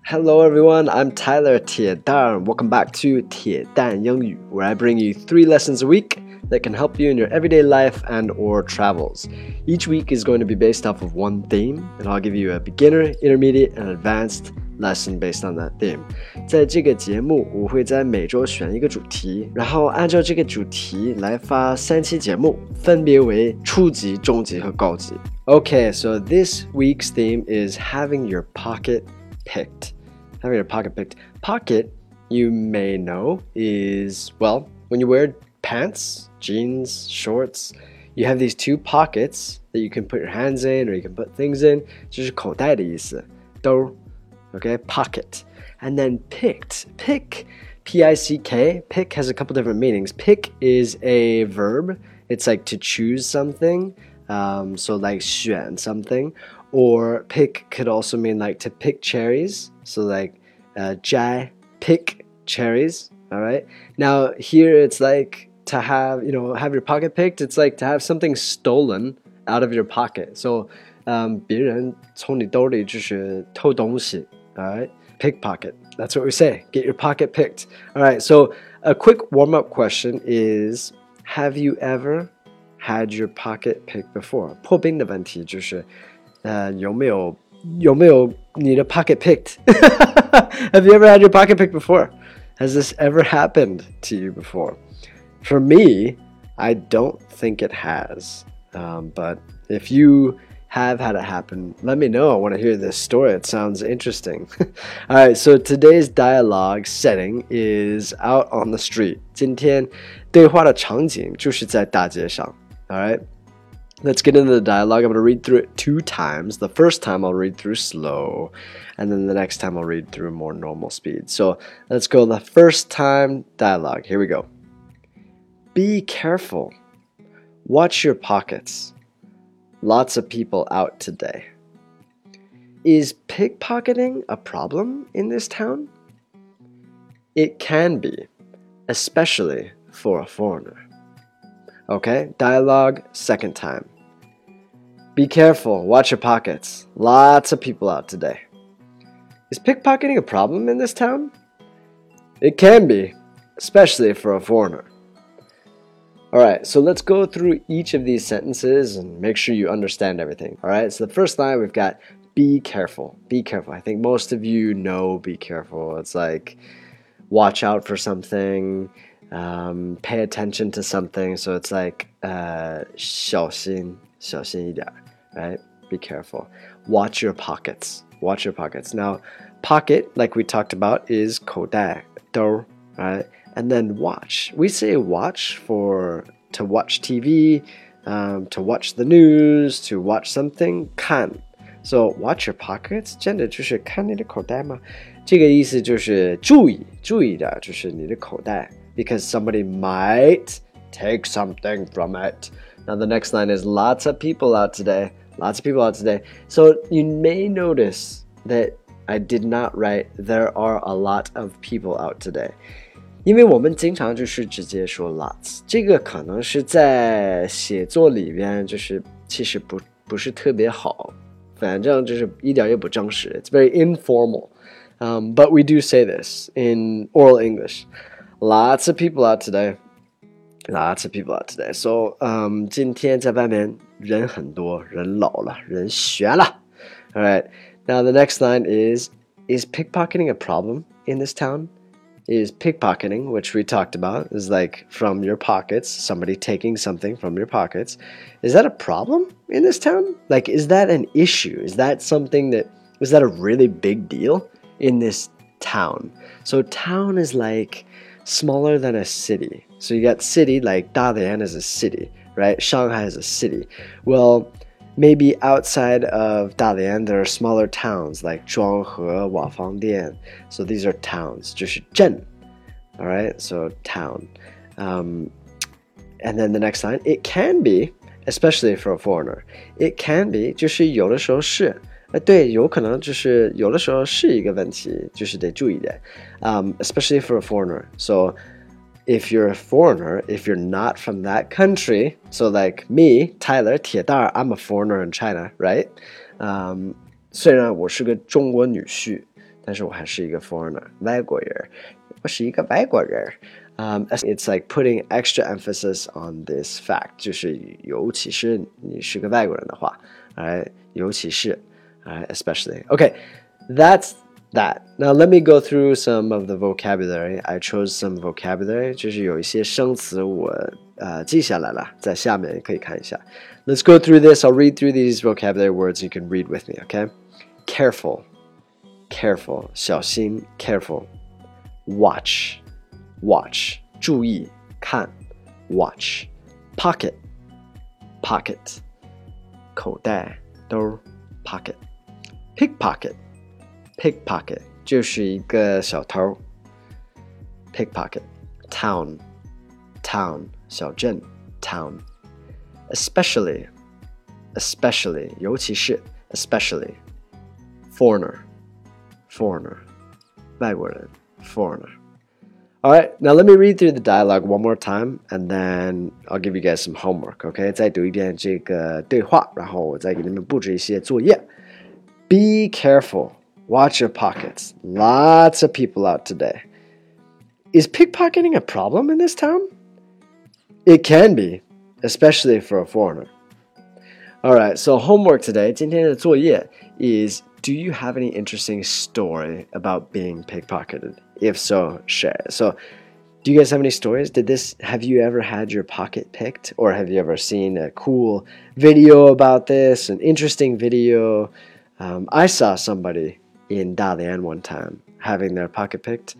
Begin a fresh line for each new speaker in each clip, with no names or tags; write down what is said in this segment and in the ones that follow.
Hello everyone, I'm Tyler 铁蛋. Welcome back to 铁蛋英语, where I bring you 3 lessons a week that can help you in your everyday life and or travels. Each week is going to be based off of one theme, and I'll give you a beginner, intermediate, and advanced lesson based on that theme. 在这个节目，我会在每周选一个主题，然后按照这个主题来发3期节目，分别为初级、中级和高级。Okay, so this week's theme is having your pocket picked. Having your pocket picked. Pocket, you may know, is, well, when you wear pants, jeans, shorts, you have these 2 pockets that you can put your hands in or you can put things in. 就是口袋的意思，兜 okay, pocket. And then picked, pick, P-I-C-K, pick has a couple different meanings. Pick is a verb. It's like to choose something, so like 选 something. Or pick could also mean like to pick cherries. So like 摘 pick cherries. All right. Now here it's like to have, have your pocket picked. It's like to have something stolen out of your pocket. So 别人从你兜里就是偷东西. All right. Pickpocket. That's what we say. Get your pocket picked. All right. So a quick warm-up question is, have you ever had your pocket picked before? 破冰的问题就是有没有你的 pocket picked? Have you ever had your pocket picked before? Has this ever happened to you before? For me, I don't think it has. But if you have had it happen, let me know. I want to hear this story. It sounds interesting. All right, so today's dialogue setting is out on the street. 今天对话的场景就是在大街上. All right? Let's get into the dialogue. I'm going to read through it 2 times. The first time I'll read through slow, and then the next time I'll read through more normal speed. So let's go the first time dialogue. Here we go. Be careful. Watch your pockets. Lots of people out today. Is pickpocketing a problem in this town? It can be, especially for a foreigner. Okay, dialogue, second time. Be careful, watch your pockets. Lots of people out today. Is pickpocketing a problem in this town? It can be, especially for a foreigner. Alright, so let's go through each of these sentences and make sure you understand everything. Alright, so the first line we've got be careful. Be careful. I think most of you know be careful. It's like watch out for something. Pay attention to something, so it's like 小心一点, right? Be careful. Watch your pockets. Watch your pockets. Now, pocket, like we talked about, is 口袋, 兜, right? And then watch. We say watch to watch TV, to watch the news, to watch something, 看. So watch your pockets, 真的就是看你的口袋吗？这个意思就是注意的，就是你的口袋。Because somebody might take something from it. Now the next line is lots of people out today. Lots of people out today. So you may notice that I did not write there are a lot of people out today. 因为我们经常就是直接说 lots. 这个可能是在写作里边就是其实不是特别好。反正就是一点也不正式. It's very informal. But we do say this in oral English.Lots of people out today. Lots of people out today. So, 今天在外面人很多，人老了，人悬了. All right. Now the next line is pickpocketing a problem in this town? Is pickpocketing, which we talked about, is like from your pockets, somebody taking something from your pockets. Is that a problem in this town? Like, is that an issue? Is that a really big deal in this town? So town is like smaller than a city. So you got city, like Dalian is a city, right? Shanghai is a city. Well, maybe outside of Dalian, there are smaller towns like Zhuanghe, Wafangdian. So these are towns, 就是镇. All right, so town. And then the next line, it can be, especially for a foreigner. It can be, 就是有的时候是。对，有可能就是有的时候是一个问题，就是得注意的。Especially for a foreigner. So if you're a foreigner, if you're not from that country, so like me, Tyler, 铁蛋, I'm a foreigner in China, right? 虽然我是个中国女婿， 但是我还是一个 foreigner 外国人，我是一个外国人。It's like putting extra emphasis on this fact， 就是尤其是你是个外国人的话，尤其是especially. Okay, that's that. Now let me go through some of the vocabulary. I chose some vocabulary， 就是有一些生词我记下来了，在下面可以看一下。Let's go through this. I'll read through these vocabulary words. You can read with me, okay? Careful, careful, 小心 careful. Watch, watch, 注意看 watch. Pocket, pocket, 口袋兜 pocket. Pickpocket, pickpocket, 就是一个小偷 pickpocket. Town, town, 小镇 town. Especially, especially, 尤其是 especially. Foreigner, foreigner, 外国人 foreigner. All right, now let me read through the dialogue one more time, and then I'll give you guys some homework, okay? 再读一遍这个对话，然后我再给你们布置一些作业。Be careful. Watch your pockets. Lots of people out today. Is pickpocketing a problem in this town? It can be, especially for a foreigner. All right, so homework today, 今天的作业 is, do you have any interesting story about being pickpocketed? If so, share it. So, do you guys have any stories? Have you ever had your pocket picked? Or have you ever seen a cool video about this, an interesting video? I saw somebody in Dalian one time having their pocket picked,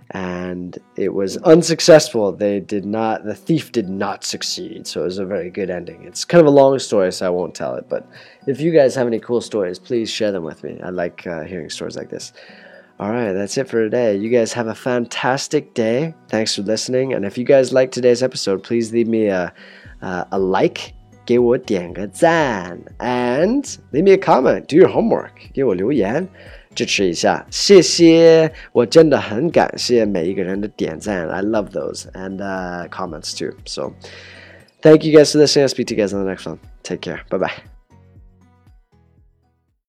and it was unsuccessful. The thief did not succeed, so it was a very good ending. It's kind of a long story, so I won't tell it, but if you guys have any cool stories, please share them with me. I like hearing stories like this. All right, that's it for today. You guys have a fantastic day. Thanks for listening, and if you guys like today's episode, please leave me a like, 给我点个赞 and leave me a comment. Do your homework. 给我留言支持一下，谢谢，我真的很感谢每一个人的点赞 I love those and comments too. So thank you guys for listening. I'll speak to you guys on the next one. Take care. Bye bye.